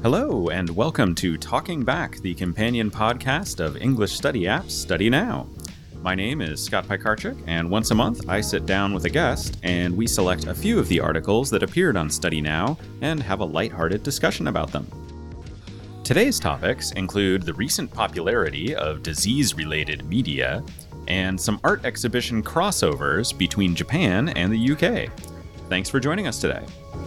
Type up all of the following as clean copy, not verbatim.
Hello, and welcome to Talking Back, the companion podcast of English study apps Study Now. My name is Scott Pikarczyk, and once a month I sit down with a guest, and we select a few of the articles that appeared on Study Now and have a lighthearted discussion about them. Today's topics include the recent popularity of disease-related media and some art exhibition crossovers between Japan and the UK. Thanks for joining us today.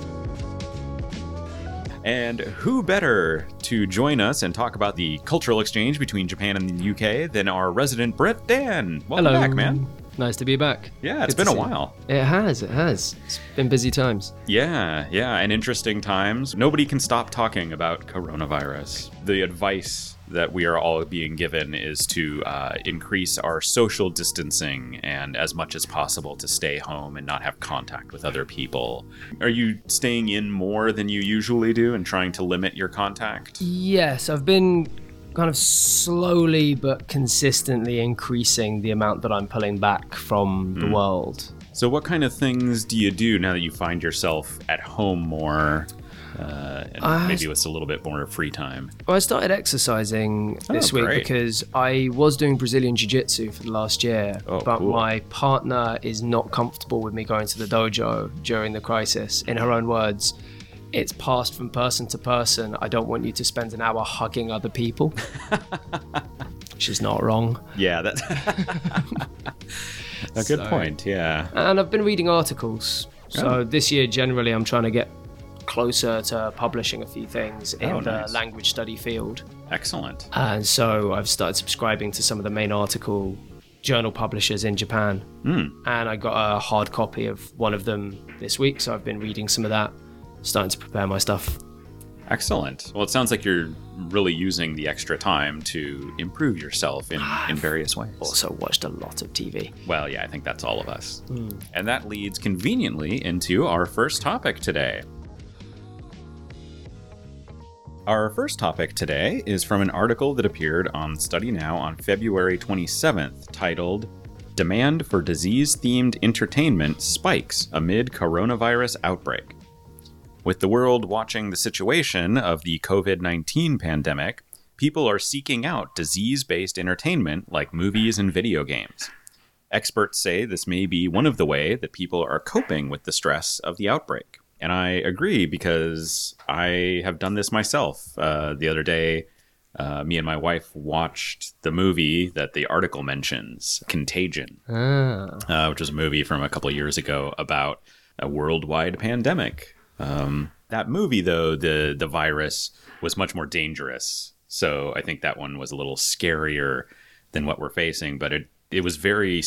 And who better to join us and talk about the cultural exchange between Japan and the UK than our resident Brit, Dan. Welcome Hello. back, man. Nice to be back. Yeah, it's been a while. It has. It's been busy times. Yeah, and interesting times. Nobody can stop talking about coronavirus. The advice that we are all being given is to increase our social distancing and as much as possible to stay home and not have contact with other people. Are you staying in more than you usually do and trying to limit your contact? Yes, I've been kind of slowly but consistently increasing the amount that I'm pulling back from the world. So what kind of things do you do now that you find yourself at home more? And maybe with a little bit more free time. Well, I started exercising this week great. because I was doing Brazilian Jiu-Jitsu for the last year, but cool. my partner is not comfortable with me going to the dojo during the crisis. In her own words, it's passed from person to person. I don't want you to spend an hour hugging other people. She's not wrong. Yeah, that's a good point, yeah. And I've been reading articles. So this year, generally, I'm trying to get closer to publishing a few things in the language study field. Excellent. And so I've started subscribing to some of the main article journal publishers in Japan. And I got a hard copy of one of them this week, so I've been reading some of that, starting to prepare my stuff. Excellent. Well, it sounds like you're really using the extra time to improve yourself in various ways. Also watched a lot of TV. Well, yeah, I think that's all of us. And that leads conveniently into our first topic today. Our first topic today is from an article that appeared on Study Now on February 27th, titled, Demand for Disease-Themed Entertainment Spikes Amid Coronavirus Outbreak. With the world watching the situation of the COVID-19 pandemic, people are seeking out disease-based entertainment like movies and video games. Experts say this may be one of the ways that people are coping with the stress of the outbreak. And I agree because I have done this myself. The other day, me and my wife watched the movie that the article mentions, Contagion, which was a movie from a couple of years ago about a worldwide pandemic. That movie, though, the virus was much more dangerous. So I think that one was a little scarier than what we're facing. But it was very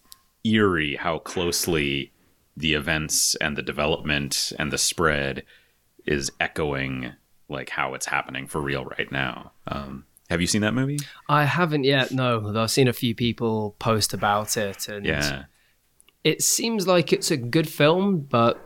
eerie how closely the events and the development and the spread is echoing like how it's happening for real right now. Have you seen that movie? I haven't yet, no. Though I've seen a few people post about it. And it seems like it's a good film, but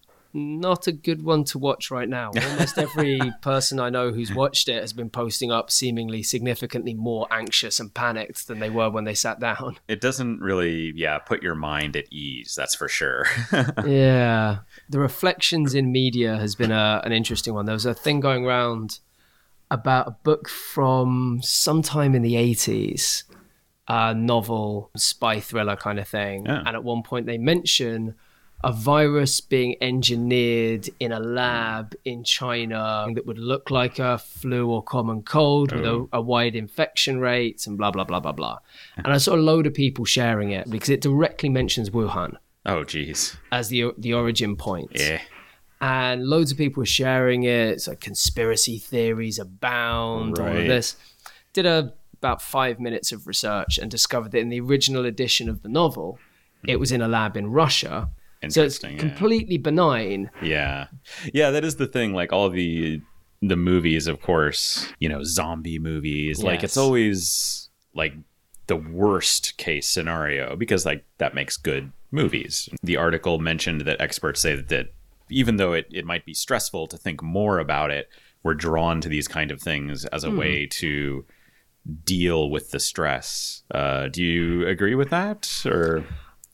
not a good one to watch right now. Almost every person I know who's watched it has been posting up seemingly significantly more anxious and panicked than they were when they sat down. It doesn't really, put your mind at ease, that's for sure. Yeah. The reflections in media has been an interesting one. There was a thing going around about a book from sometime in the 80s, a novel, spy thriller kind of thing. Yeah. And at one point they mention a virus being engineered in a lab in China that would look like a flu or common cold with a wide infection rate and blah, blah, blah, blah, blah. And I saw a load of people sharing it because it directly mentions Wuhan. Oh, geez. As the origin point. Yeah. And loads of people were sharing it. It's like conspiracy theories abound, all of this. Did about 5 minutes of research and discovered that in the original edition of the novel, it was in a lab in Russia. So it's completely benign. Yeah, that is the thing. Like all the movies, of course, zombie movies. Yes. Like it's always like the worst case scenario because like that makes good movies. The article mentioned that experts say that even though it might be stressful to think more about it, we're drawn to these kind of things as a way to deal with the stress. Do you agree with that, or?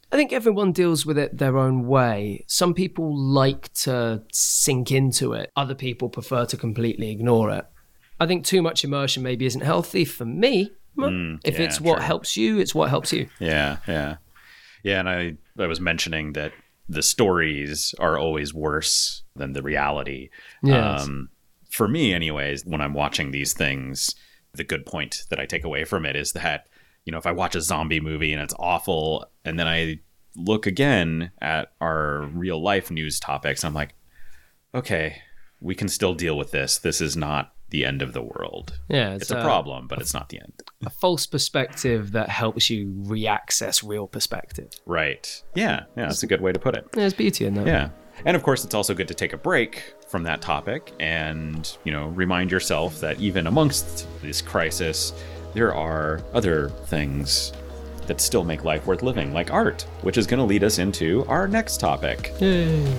I think everyone deals with it their own way. Some people like to sink into it. Other people prefer to completely ignore it. I think too much immersion maybe isn't healthy for me. If it's what helps you, it's what helps you. Yeah. And I was mentioning that the stories are always worse than the reality. Yes. For me, anyways, when I'm watching these things, the good point that I take away from it is that, if I watch a zombie movie and it's awful, and then I look again at our real life news topics, I'm like, okay, we can still deal with this. This is not the end of the world. Yeah, it's a problem, but it's not the end. A false perspective that helps you re-access real perspective. Right. Yeah, that's a good way to put it. There's beauty in that. Yeah. And of course, it's also good to take a break from that topic and, remind yourself that even amongst this crisis, there are other things that still make life worth living, like art, which is going to lead us into our next topic. Yay.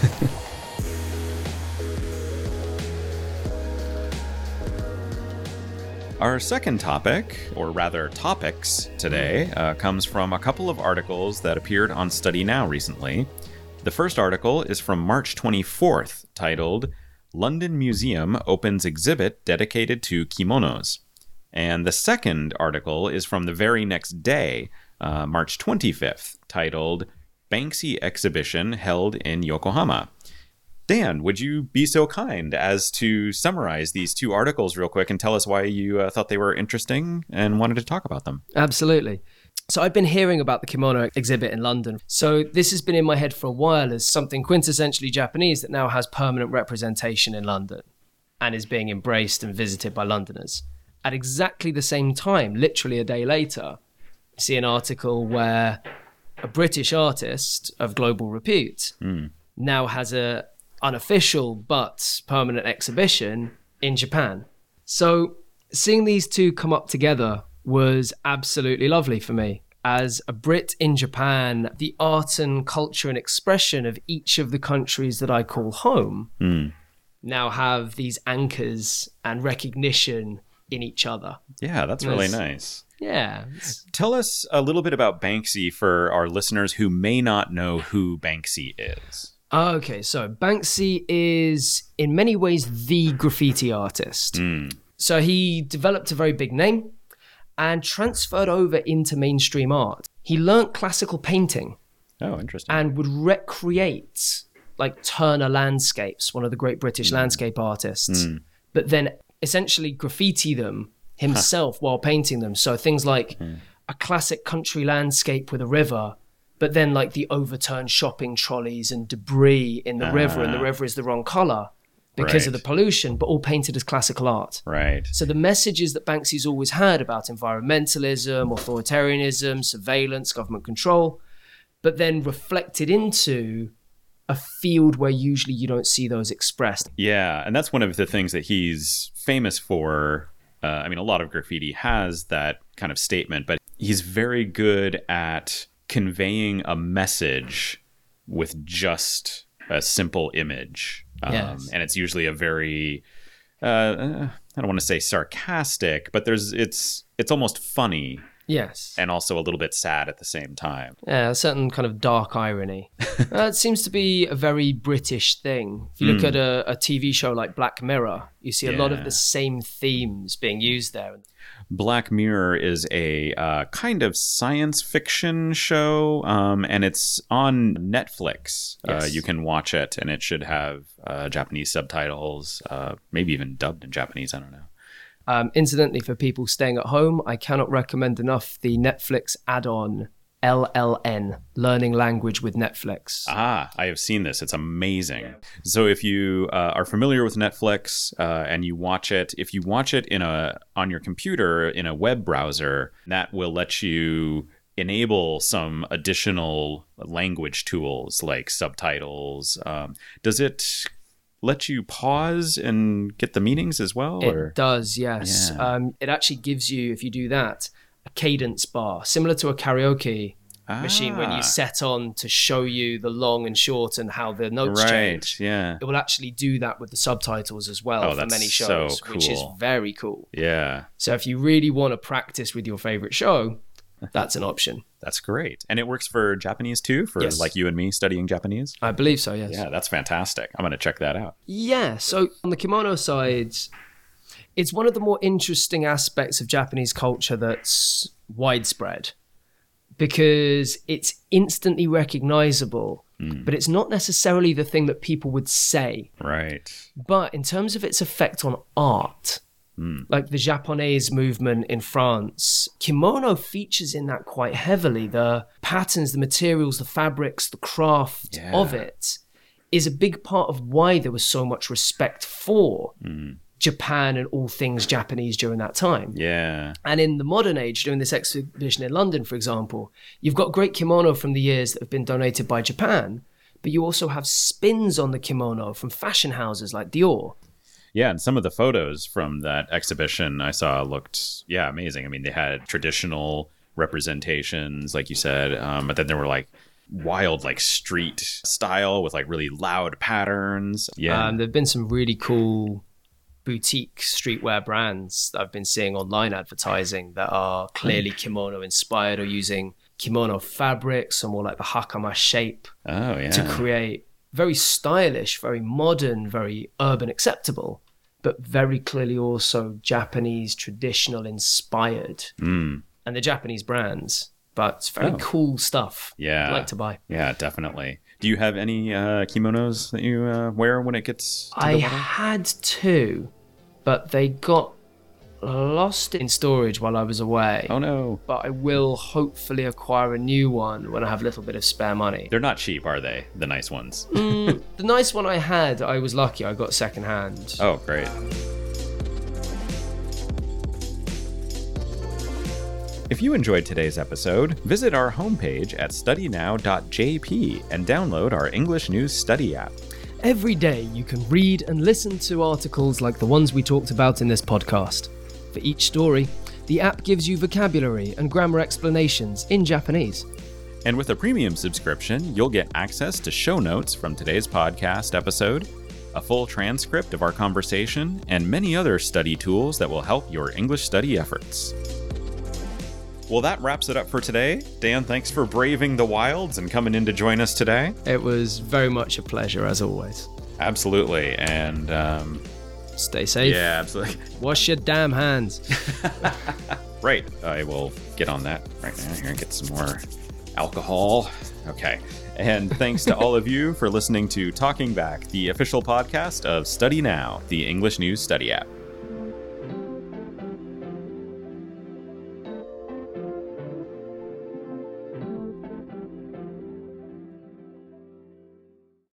Our second topic, or rather topics today, comes from a couple of articles that appeared on Study Now recently. The first article is from March 24th, titled, London Museum Opens Exhibit Dedicated to Kimonos. And the second article is from the very next day, March 25th, titled, Banksy Exhibition Held in Yokohama. Dan, would you be so kind as to summarize these two articles real quick and tell us why you thought they were interesting and wanted to talk about them? Absolutely. So I've been hearing about the kimono exhibit in London. So this has been in my head for a while as something quintessentially Japanese that now has permanent representation in London and is being embraced and visited by Londoners. At exactly the same time, literally a day later, I see an article where a British artist of global repute now has a unofficial but permanent exhibition in Japan. So seeing these two come up together was absolutely lovely for me. As a Brit in Japan, the art and culture and expression of each of the countries that I call home now have these anchors and recognition in each other. Yeah, that's really nice. Yeah. Tell us a little bit about Banksy for our listeners who may not know who Banksy is. Okay, so Banksy is in many ways the graffiti artist. So he developed a very big name and transferred over into mainstream art. He learnt classical painting. Oh, interesting. And would recreate like Turner landscapes, one of the great British landscape artists, but then essentially graffiti them himself while painting them. So things like a classic country landscape with a river, but then like the overturned shopping trolleys and debris in the river, and the river is the wrong color because of the pollution, but all painted as classical art. Right. So the messages that Banksy's always had about environmentalism, authoritarianism, surveillance, government control, but then reflected into a field where usually you don't see those expressed. Yeah, and that's one of the things that he's famous for. I mean, a lot of graffiti has that kind of statement, but he's very good at conveying a message with just a simple image. Yes. And it's usually a very, I don't want to say sarcastic, but it's almost funny. Yes. And also a little bit sad at the same time. Yeah, a certain kind of dark irony. It seems to be a very British thing. If you look at a TV show like Black Mirror, you see a lot of the same themes being used there. Black Mirror is a kind of science fiction show, and it's on Netflix. Yes. You can watch it, and it should have Japanese subtitles, maybe even dubbed in Japanese, I don't know. Incidentally, for people staying at home, I cannot recommend enough the Netflix add-on LLN, Learning Language with Netflix. Ah, I have seen this. It's amazing. So if you are familiar with Netflix and you watch it, if you watch it on your computer in a web browser, that will let you enable some additional language tools like subtitles. Does it let you pause and get the meanings as well? It does, yes. Yeah. It actually gives you, if you do that, a cadence bar, similar to a karaoke machine when you set on to show you the long and short and how the notes change. Yeah. It will actually do that with the subtitles as well for many shows, so cool. which is very cool. Yeah. So if you really want to practice with your favorite show, that's an option. That's great. And it works for Japanese too, for Yes. like you and me studying Japanese? I believe so, yes. Yeah, that's fantastic. I'm going to check that out. Yeah, so on the kimono side, it's one of the more interesting aspects of Japanese culture that's widespread because it's instantly recognizable, but it's not necessarily the thing that people would say. Right. But in terms of its effect on art, like the Japanese movement in France, kimono features in that quite heavily. The patterns, the materials, the fabrics, the craft of it is a big part of why there was so much respect for Japan and all things Japanese during that time. Yeah. And in the modern age, during this exhibition in London, for example, you've got great kimono from the years that have been donated by Japan, but you also have spins on the kimono from fashion houses like Dior. Yeah, and some of the photos from that exhibition I saw looked, amazing. I mean, they had traditional representations, like you said, but then there were like wild, like street style with like really loud patterns. Yeah. There have been some really cool boutique streetwear brands that I've been seeing online advertising that are clearly kimono inspired or using kimono fabrics or more like the hakama shape to create very stylish, very modern, very urban acceptable, but very clearly also Japanese traditional inspired. And the Japanese brands, but it's very cool stuff. Yeah. I'd like to buy. Yeah, definitely. Do you have any kimonos that you wear when it gets to the I weather? had two, but they got lost in storage while I was away. Oh, no. But I will hopefully acquire a new one when I have a little bit of spare money. They're not cheap, are they? The nice ones. The nice one I had, I was lucky. I got secondhand. Oh, great. If you enjoyed today's episode, visit our homepage at studynow.jp and download our English News Study app. Every day you can read and listen to articles like the ones we talked about in this podcast. For each story, the app gives you vocabulary and grammar explanations in Japanese. And with a premium subscription, you'll get access to show notes from today's podcast episode, a full transcript of our conversation, and many other study tools that will help your English study efforts. Well, that wraps it up for today. Dan, thanks for braving the wilds and coming in to join us today. It was very much a pleasure, as always. Absolutely. And stay safe. Yeah, absolutely. Wash your damn hands. Right. I will get on that right now here and get some more alcohol. Okay. And thanks to all of you for listening to Talking Back, the official podcast of Study Now, the English News Study app.